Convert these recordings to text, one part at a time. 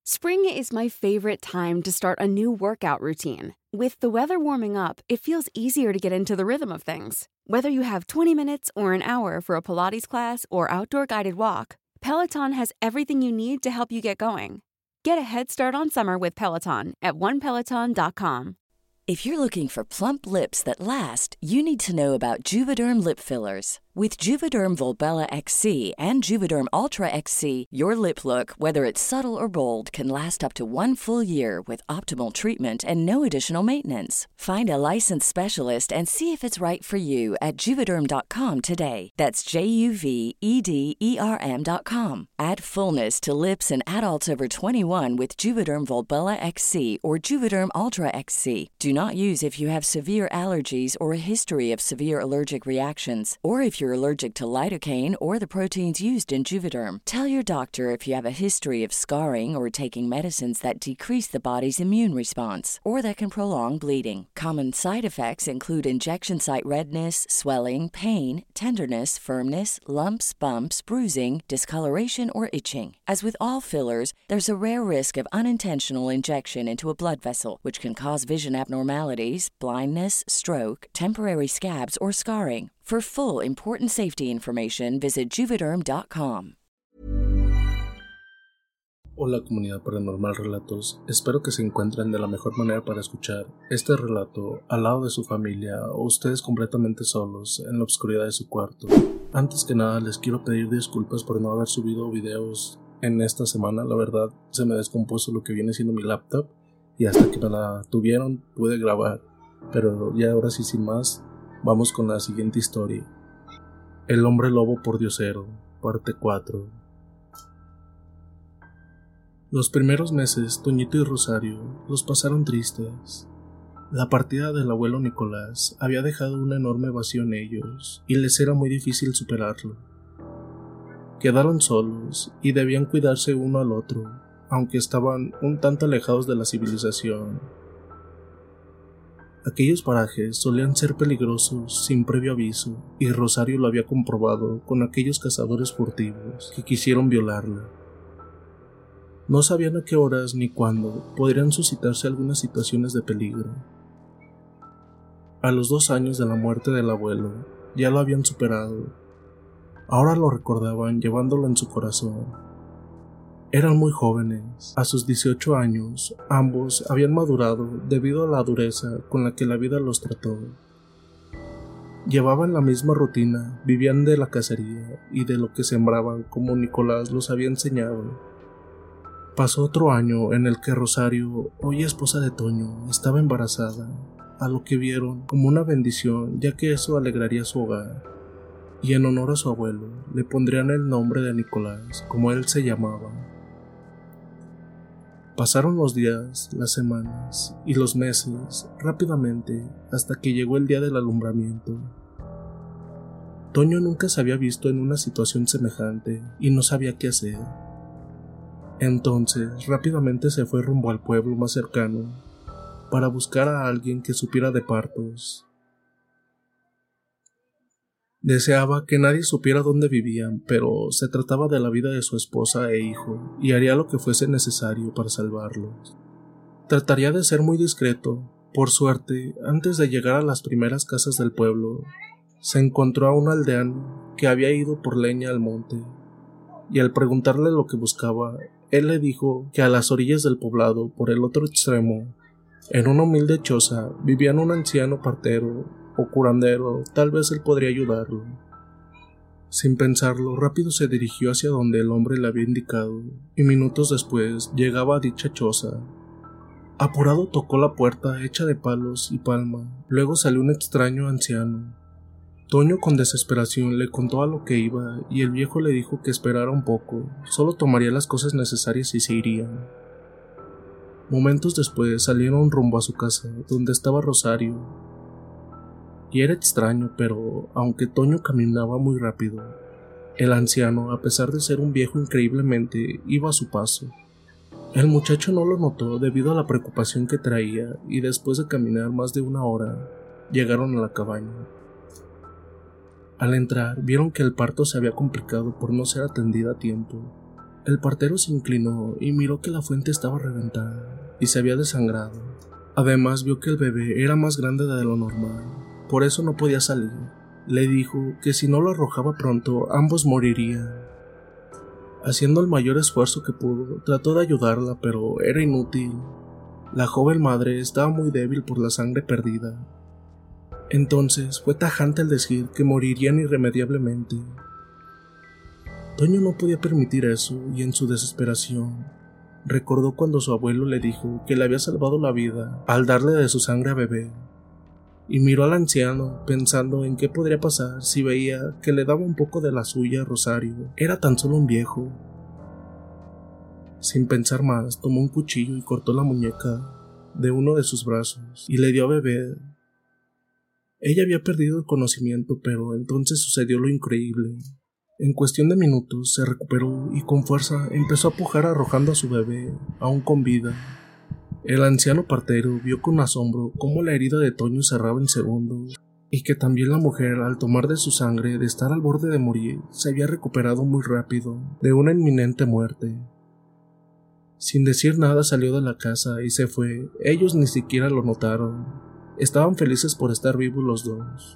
Spring is my favorite time to start a new workout routine. With the weather warming up, it feels easier to get into the rhythm of things. Whether you have 20 minutes or an hour for a Pilates class or outdoor guided walk, Peloton has everything you need to help you get going. Get a head start on summer with Peloton at onepeloton.com. If you're looking for plump lips that last, you need to know about Juvederm lip fillers. With Juvederm Volbella XC and Juvederm Ultra XC, your lip look, whether it's subtle or bold, can last up to 1 full year with optimal treatment and no additional maintenance. Find a licensed specialist and see if it's right for you at Juvederm.com today. That's JUVEDERM.com. Add fullness to lips in adults over 21 with Juvederm Volbella XC or Juvederm Ultra XC. Do not use if you have severe allergies or a history of severe allergic reactions, or if you're allergic to lidocaine or the proteins used in Juvederm. Tell your doctor if you have a history of scarring or taking medicines that decrease the body's immune response or that can prolong bleeding. Common side effects include injection site redness, swelling, pain, tenderness, firmness, lumps, bumps, bruising, discoloration, or itching. As with all fillers, there's a rare risk of unintentional injection into a blood vessel, which can cause vision abnormalities, blindness, stroke, temporary scabs, or scarring. For full, important safety information, visit Juvederm.com. Hola comunidad Paranormal Relatos, espero que se encuentren de la mejor manera para escuchar este relato al lado de su familia o ustedes completamente solos en la oscuridad de su cuarto. Antes que nada les quiero pedir disculpas por no haber subido videos en esta semana. La verdad se me descompuso lo que viene siendo mi laptop y hasta que me la tuvieron pude grabar, pero ya ahora sí sin más, vamos con la siguiente historia. El hombre lobo pordiosero, parte 4. Los primeros meses, Toñito y Rosario los pasaron tristes. La partida del abuelo Nicolás había dejado un enorme vacío en ellos y les era muy difícil superarlo. Quedaron solos y debían cuidarse uno al otro, aunque estaban un tanto alejados de la civilización. Aquellos parajes solían ser peligrosos sin previo aviso, y Rosario lo había comprobado con aquellos cazadores furtivos que quisieron violarla. No sabían a qué horas ni cuándo podrían suscitarse algunas situaciones de peligro. A los 2 años de la muerte del abuelo, ya lo habían superado. Ahora lo recordaban llevándolo en su corazón. Eran muy jóvenes. A sus 18 años, ambos habían madurado debido a la dureza con la que la vida los trató. Llevaban la misma rutina, vivían de la cacería y de lo que sembraban como Nicolás los había enseñado. Pasó otro año en el que Rosario, hoy esposa de Toño, estaba embarazada, a lo que vieron como una bendición, ya que eso alegraría su hogar. Y en honor a su abuelo, le pondrían el nombre de Nicolás, como él se llamaba. Pasaron los días, las semanas y los meses rápidamente hasta que llegó el día del alumbramiento. Toño nunca se había visto en una situación semejante y no sabía qué hacer. Entonces rápidamente se fue rumbo al pueblo más cercano para buscar a alguien que supiera de partos. Deseaba que nadie supiera dónde vivían, pero se trataba de la vida de su esposa e hijo, y haría lo que fuese necesario para salvarlos. Trataría de ser muy discreto. Por suerte, antes de llegar a las primeras casas del pueblo, se encontró a un aldeano que había ido por leña al monte, y al preguntarle lo que buscaba, él le dijo que a las orillas del poblado, por el otro extremo, en una humilde choza, vivían un anciano partero o curandero, tal vez él podría ayudarlo. Sin pensarlo, rápido se dirigió hacia donde el hombre le había indicado, y minutos después llegaba a dicha choza. Apurado tocó la puerta hecha de palos y palma, luego salió un extraño anciano. Toño con desesperación le contó a lo que iba, y el viejo le dijo que esperara un poco, solo tomaría las cosas necesarias y se irían. Momentos después salieron rumbo a su casa, donde estaba Rosario. Y era extraño, pero aunque Toño caminaba muy rápido, el anciano, a pesar de ser un viejo increíblemente, iba a su paso. El muchacho no lo notó debido a la preocupación que traía, y después de caminar más de 1 hora, llegaron a la cabaña. Al entrar, vieron que el parto se había complicado por no ser atendida a tiempo. El partero se inclinó y miró que la fuente estaba reventada y se había desangrado. Además vio que el bebé era más grande de lo normal, por eso no podía salir. Le dijo que si no lo arrojaba pronto, ambos morirían. Haciendo el mayor esfuerzo que pudo, trató de ayudarla, pero era inútil. La joven madre estaba muy débil por la sangre perdida. Entonces fue tajante al decir que morirían irremediablemente. Toño no podía permitir eso y en su desesperación recordó cuando su abuelo le dijo que le había salvado la vida al darle de su sangre a beber, y miró al anciano pensando en qué podría pasar si veía que le daba un poco de la suya a Rosario. Era tan solo un viejo. Sin pensar más, tomó un cuchillo y cortó la muñeca de uno de sus brazos y le dio a beber. Ella había perdido el conocimiento, pero entonces sucedió lo increíble. En cuestión de minutos se recuperó y con fuerza empezó a pujar arrojando a su bebé, aún con vida. El anciano partero vio con asombro cómo la herida de Toño cerraba en segundos y que también la mujer, al tomar de su sangre de estar al borde de morir, se había recuperado muy rápido de una inminente muerte. Sin decir nada salió de la casa y se fue. Ellos ni siquiera lo notaron. Estaban felices por estar vivos los dos.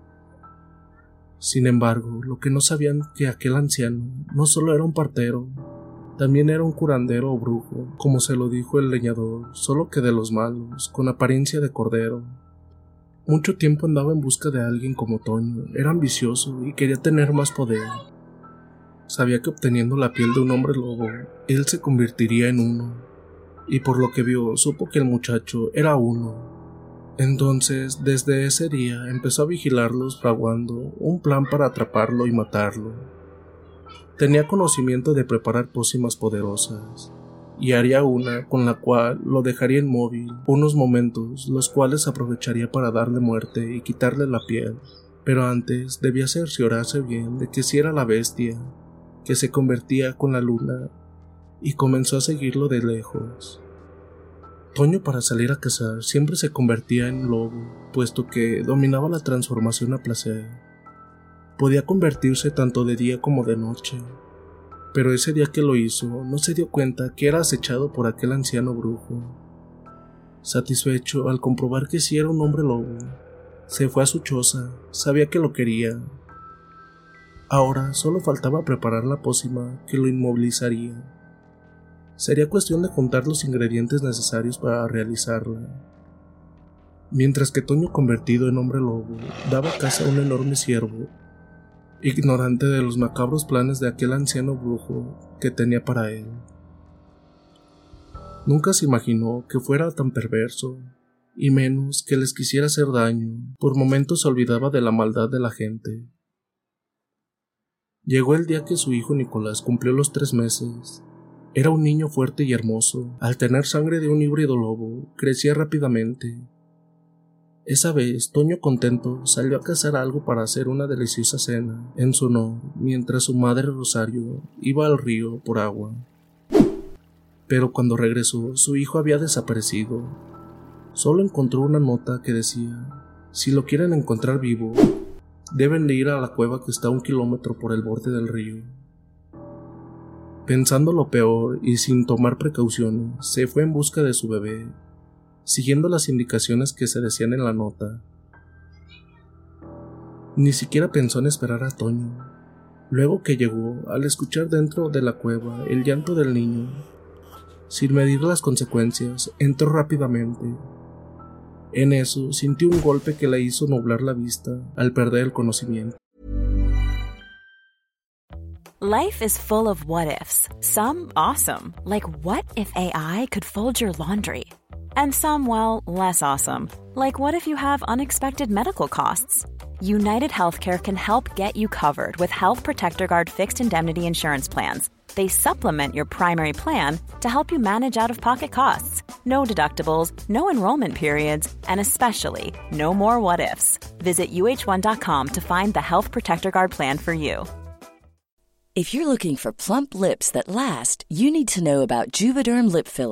Sin embargo, lo que no sabían que aquel anciano no solo era un partero, también era un curandero o brujo, como se lo dijo el leñador, solo que de los malos, con apariencia de cordero. Mucho tiempo andaba en busca de alguien como Toño, era ambicioso y quería tener más poder. Sabía que obteniendo la piel de un hombre lobo, él se convertiría en uno, y por lo que vio, supo que el muchacho era uno. Entonces, desde ese día, empezó a vigilarlos fraguando un plan para atraparlo y matarlo. Tenía conocimiento de preparar pócimas poderosas, y haría una con la cual lo dejaría inmóvil unos momentos, los cuales aprovecharía para darle muerte y quitarle la piel. Pero antes debía cerciorarse bien de que si era la bestia, que se convertía con la luna, y comenzó a seguirlo de lejos. Toño, para salir a cazar, siempre se convertía en lobo, puesto que dominaba la transformación a placer. Podía convertirse tanto de día como de noche, pero ese día que lo hizo, no se dio cuenta que era acechado por aquel anciano brujo. Satisfecho al comprobar que sí era un hombre lobo, se fue a su choza, sabía que lo quería. Ahora solo faltaba preparar la pócima que lo inmovilizaría. Sería cuestión de juntar los ingredientes necesarios para realizarla. Mientras que Toño, convertido en hombre lobo, daba caza a un enorme ciervo, ignorante de los macabros planes de aquel anciano brujo que tenía para él. Nunca se imaginó que fuera tan perverso, y menos que les quisiera hacer daño. Por momentos se olvidaba de la maldad de la gente. Llegó el día que su hijo Nicolás cumplió los 3 meses. Era un niño fuerte y hermoso. Al tener sangre de un híbrido lobo, crecía rápidamente. Esa vez, Toño, contento, salió a cazar algo para hacer una deliciosa cena en su honor, mientras su madre Rosario iba al río por agua. Pero cuando regresó, su hijo había desaparecido. Solo encontró una nota que decía: si lo quieren encontrar vivo, deben de ir a la cueva que está a 1 kilómetro por el borde del río. Pensando lo peor y sin tomar precauciones, se fue en busca de su bebé, siguiendo las indicaciones que se decían en la nota. Ni siquiera pensó en esperar a Toño. Luego que llegó, al escuchar dentro de la cueva el llanto del niño, sin medir las consecuencias, entró rápidamente. En eso sintió un golpe que le hizo nublar la vista al perder el conocimiento. Life is full of what-ifs. Some awesome, like what if AI could fold your laundry? And some, well, less awesome, like what if you have unexpected medical costs? United Healthcare can help get you covered with Health Protector Guard fixed indemnity insurance plans. They supplement your primary plan to help you manage out-of-pocket costs. No deductibles, no enrollment periods, and especially no more what-ifs. Visit uh1.com to find the Health Protector Guard plan for you. If you're looking for plump lips that last, you need to know about Juvederm lip fillers.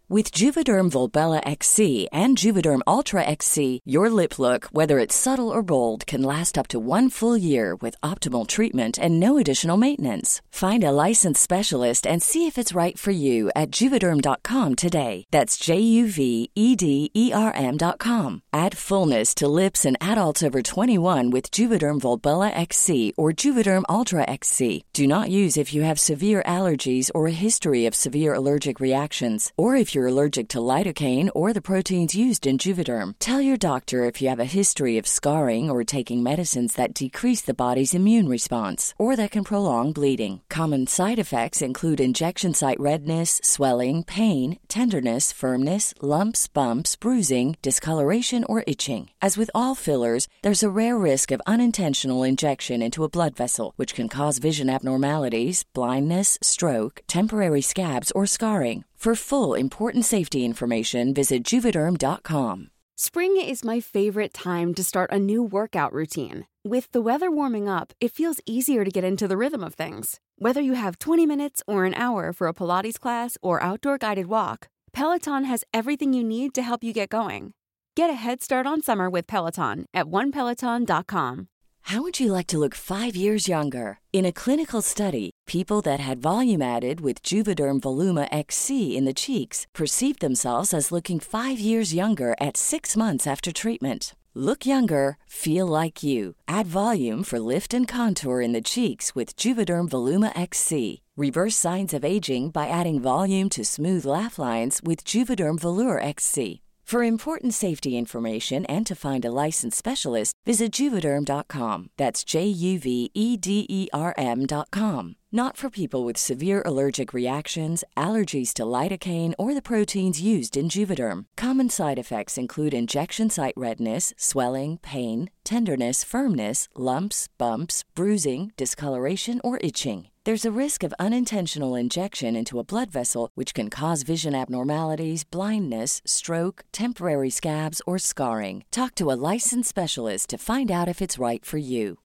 With Juvederm Volbella XC and Juvederm Ultra XC, your lip look, whether it's subtle or bold, can last up to 1 full year with optimal treatment and no additional maintenance. Find a licensed specialist and see if it's right for you at Juvederm.com today. That's JUVEDERM.com. Add fullness to lips in adults over 21 with Juvederm Volbella XC or Juvederm Ultra XC. Do not use if you have severe allergies or a history of severe allergic reactions, or if you're allergic to lidocaine or the proteins used in Juvederm. Tell your doctor if you have a history of scarring or taking medicines that decrease the body's immune response or that can prolong bleeding. Common side effects include injection site redness, swelling, pain, tenderness, firmness, lumps, bumps, bruising, discoloration, or itching. As with all fillers, there's a rare risk of unintentional injection into a blood vessel, which can cause vision abnormalities, blindness, stroke, temporary scabs, or scarring. For full, important safety information, visit Juvederm.com. Spring is my favorite time to start a new workout routine. With the weather warming up, it feels easier to get into the rhythm of things. Whether you have 20 minutes or an hour for a Pilates class or outdoor guided walk, Peloton has everything you need to help you get going. Get a head start on summer with Peloton at onepeloton.com. How would you like to look 5 years younger? In a clinical study, people that had volume added with Juvederm Voluma XC in the cheeks perceived themselves as looking 5 years younger at 6 months after treatment. Look younger, feel like you. Add volume for lift and contour in the cheeks with Juvederm Voluma XC. Reverse signs of aging by adding volume to smooth laugh lines with Juvederm Volure XC. For important safety information and to find a licensed specialist, visit Juvederm.com. That's JUVEDERM.com. Not for people with severe allergic reactions, allergies to lidocaine, or the proteins used in Juvederm. Common side effects include injection site redness, swelling, pain, tenderness, firmness, lumps, bumps, bruising, discoloration, or itching. There's a risk of unintentional injection into a blood vessel, which can cause vision abnormalities, blindness, stroke, temporary scabs, or scarring. Talk to a licensed specialist to find out if it's right for you.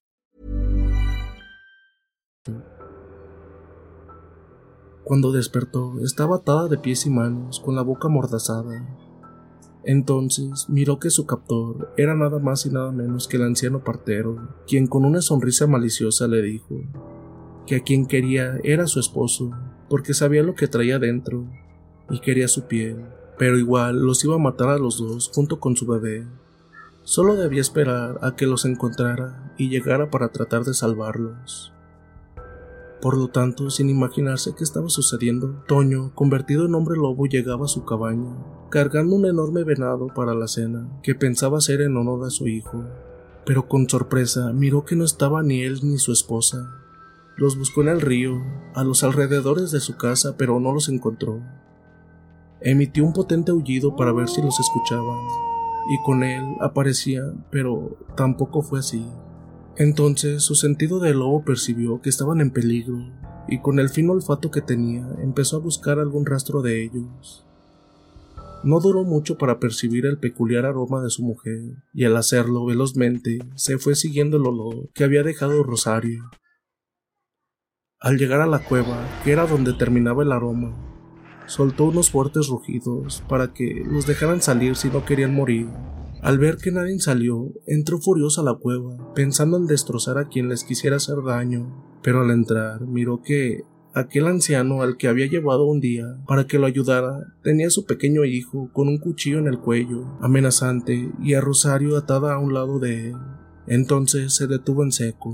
Cuando despertó, estaba atada de pies y manos, con la boca amordazada. Entonces miró que su captor era nada más y nada menos que el anciano partero, quien con una sonrisa maliciosa le dijo que a quien quería era su esposo, porque sabía lo que traía dentro y quería su piel, pero igual los iba a matar a los dos junto con su bebé. Solo debía esperar a que los encontrara y llegara para tratar de salvarlos. Por lo tanto, sin imaginarse qué estaba sucediendo, Toño, convertido en hombre lobo, llegaba a su cabaña, cargando un enorme venado para la cena, que pensaba hacer en honor a su hijo. Pero con sorpresa miró que no estaba ni él ni su esposa. Los buscó en el río, a los alrededores de su casa, pero no los encontró. Emitió un potente aullido para ver si los escuchaban, y con él aparecían, pero tampoco fue así. Entonces su sentido de lobo percibió que estaban en peligro, y con el fino olfato que tenía, empezó a buscar algún rastro de ellos. No duró mucho para percibir el peculiar aroma de su mujer, y al hacerlo velozmente, se fue siguiendo el olor que había dejado Rosario. Al llegar a la cueva, que era donde terminaba el aroma, soltó unos fuertes rugidos para que los dejaran salir si no querían morir. Al ver que nadie salió, entró furioso a la cueva, pensando en destrozar a quien les quisiera hacer daño, pero al entrar miró que aquel anciano al que había llevado un día para que lo ayudara tenía a su pequeño hijo con un cuchillo en el cuello, amenazante, y a Rosario atada a un lado de él. Entonces se detuvo en seco.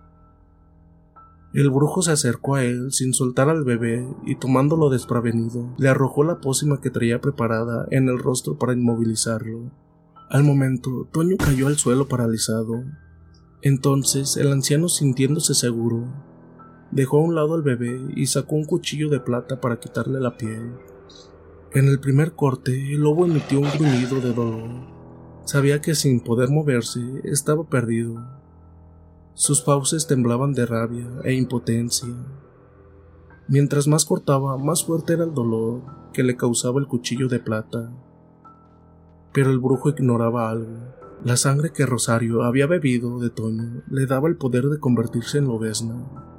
El brujo se acercó a él sin soltar al bebé y, tomándolo desprevenido, le arrojó la pócima que traía preparada en el rostro para inmovilizarlo. Al momento, Toño cayó al suelo paralizado. Entonces el anciano, sintiéndose seguro, dejó a un lado al bebé y sacó un cuchillo de plata para quitarle la piel. En el primer corte, el lobo emitió un gruñido de dolor. Sabía que sin poder moverse, estaba perdido. Sus fauces temblaban de rabia e impotencia. Mientras más cortaba, más fuerte era el dolor que le causaba el cuchillo de plata. Pero el brujo ignoraba algo. La sangre que Rosario había bebido de Toño le daba el poder de convertirse en lobezna,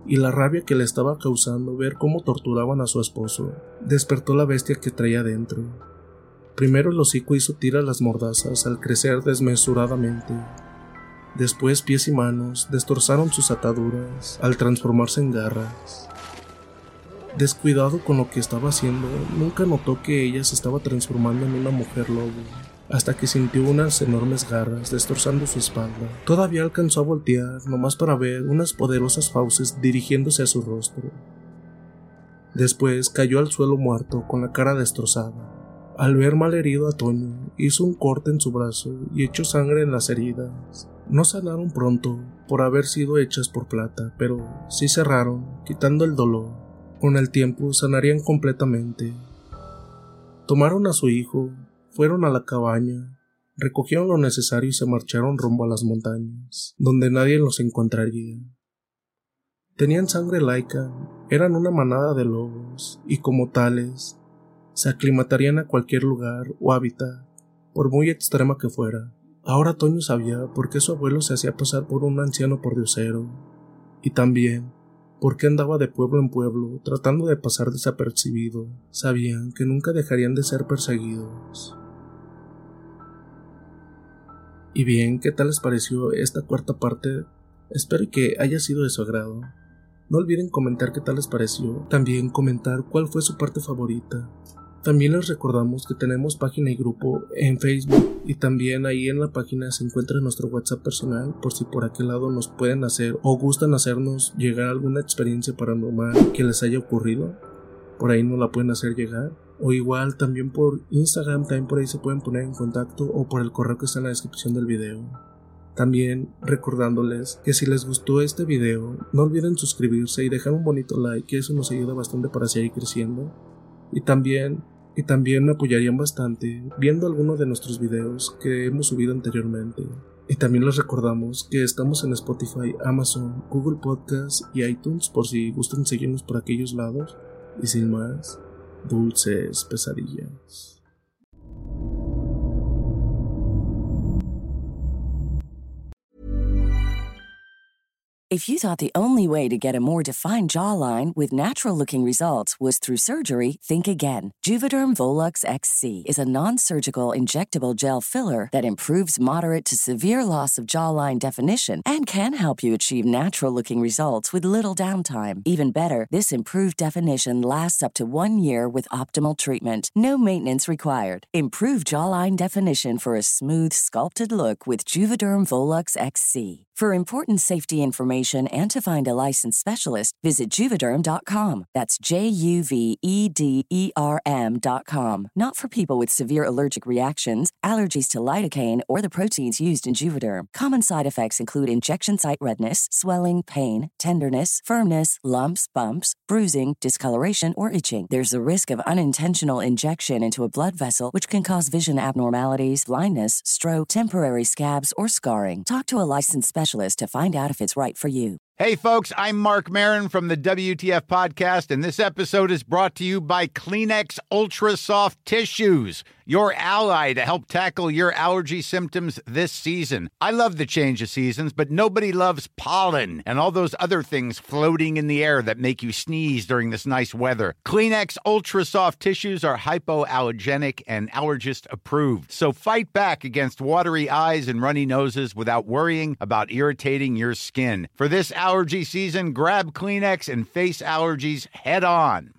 y la rabia que le estaba causando ver cómo torturaban a su esposo despertó la bestia que traía dentro. Primero el hocico hizo tiras las mordazas al crecer desmesuradamente. Después pies y manos destrozaron sus ataduras al transformarse en garras. Descuidado con lo que estaba haciendo, nunca notó que ella se estaba transformando en una mujer lobo, hasta que sintió unas enormes garras destrozando su espalda. Todavía alcanzó a voltear, nomás para ver unas poderosas fauces dirigiéndose a su rostro. Después cayó al suelo muerto con la cara destrozada. Al ver malherido a Toño, hizo un corte en su brazo y echó sangre en las heridas. No sanaron pronto por haber sido hechas por plata, pero sí cerraron, quitando el dolor. Con el tiempo sanarían completamente. Tomaron a su hijo, fueron a la cabaña, recogieron lo necesario y se marcharon rumbo a las montañas, donde nadie los encontraría. Tenían sangre laica, eran una manada de lobos, y como tales, se aclimatarían a cualquier lugar o hábitat, por muy extrema que fuera. Ahora Toño sabía por qué su abuelo se hacía pasar por un anciano pordiosero, y también por qué andaba de pueblo en pueblo tratando de pasar desapercibido. Sabían que nunca dejarían de ser perseguidos. Y bien, ¿qué tal les pareció esta cuarta parte? Espero que haya sido de su agrado. No olviden comentar qué tal les pareció, también comentar cuál fue su parte favorita. También les recordamos que tenemos página y grupo en Facebook, y también ahí en la página se encuentra nuestro WhatsApp personal por si por aquel lado nos pueden hacer o gustan hacernos llegar alguna experiencia paranormal que les haya ocurrido. Por ahí nos la pueden hacer llegar, o igual también por Instagram, también por ahí se pueden poner en contacto, o por el correo que está en la descripción del video. También recordándoles que si les gustó este video, no olviden suscribirse y dejar un bonito like, que eso nos ayuda bastante para seguir creciendo. Y también me apoyarían bastante viendo algunos de nuestros videos que hemos subido anteriormente. Y también les recordamos que estamos en Spotify, Amazon, Google Podcasts y iTunes por si gustan seguirnos por aquellos lados. Y sin más, dulces pesadillas. If you thought the only way to get a more defined jawline with natural-looking results was through surgery, think again. Juvederm Volux XC is a non-surgical injectable gel filler that improves moderate to severe loss of jawline definition and can help you achieve natural-looking results with little downtime. Even better, this improved definition lasts up to 1 year with optimal treatment. No maintenance required. Improve jawline definition for a smooth, sculpted look with Juvederm Volux XC. For important safety information and to find a licensed specialist, visit Juvederm.com. That's JUVEDERM.com. Not for people with severe allergic reactions, allergies to lidocaine, or the proteins used in Juvederm. Common side effects include injection site redness, swelling, pain, tenderness, firmness, lumps, bumps, bruising, discoloration, or itching. There's a risk of unintentional injection into a blood vessel, which can cause vision abnormalities, blindness, stroke, temporary scabs, or scarring. Talk to a licensed specialist to find out if it's right for you. Hey, folks, I'm Mark Maron from the WTF Podcast, and this episode is brought to you by Kleenex Ultra Soft Tissues, your ally to help tackle your allergy symptoms this season. I love the change of seasons, but nobody loves pollen and all those other things floating in the air that make you sneeze during this nice weather. Kleenex Ultra Soft Tissues are hypoallergenic and allergist approved, so fight back against watery eyes and runny noses without worrying about irritating your skin. For this allergy season, grab Kleenex and face allergies head on.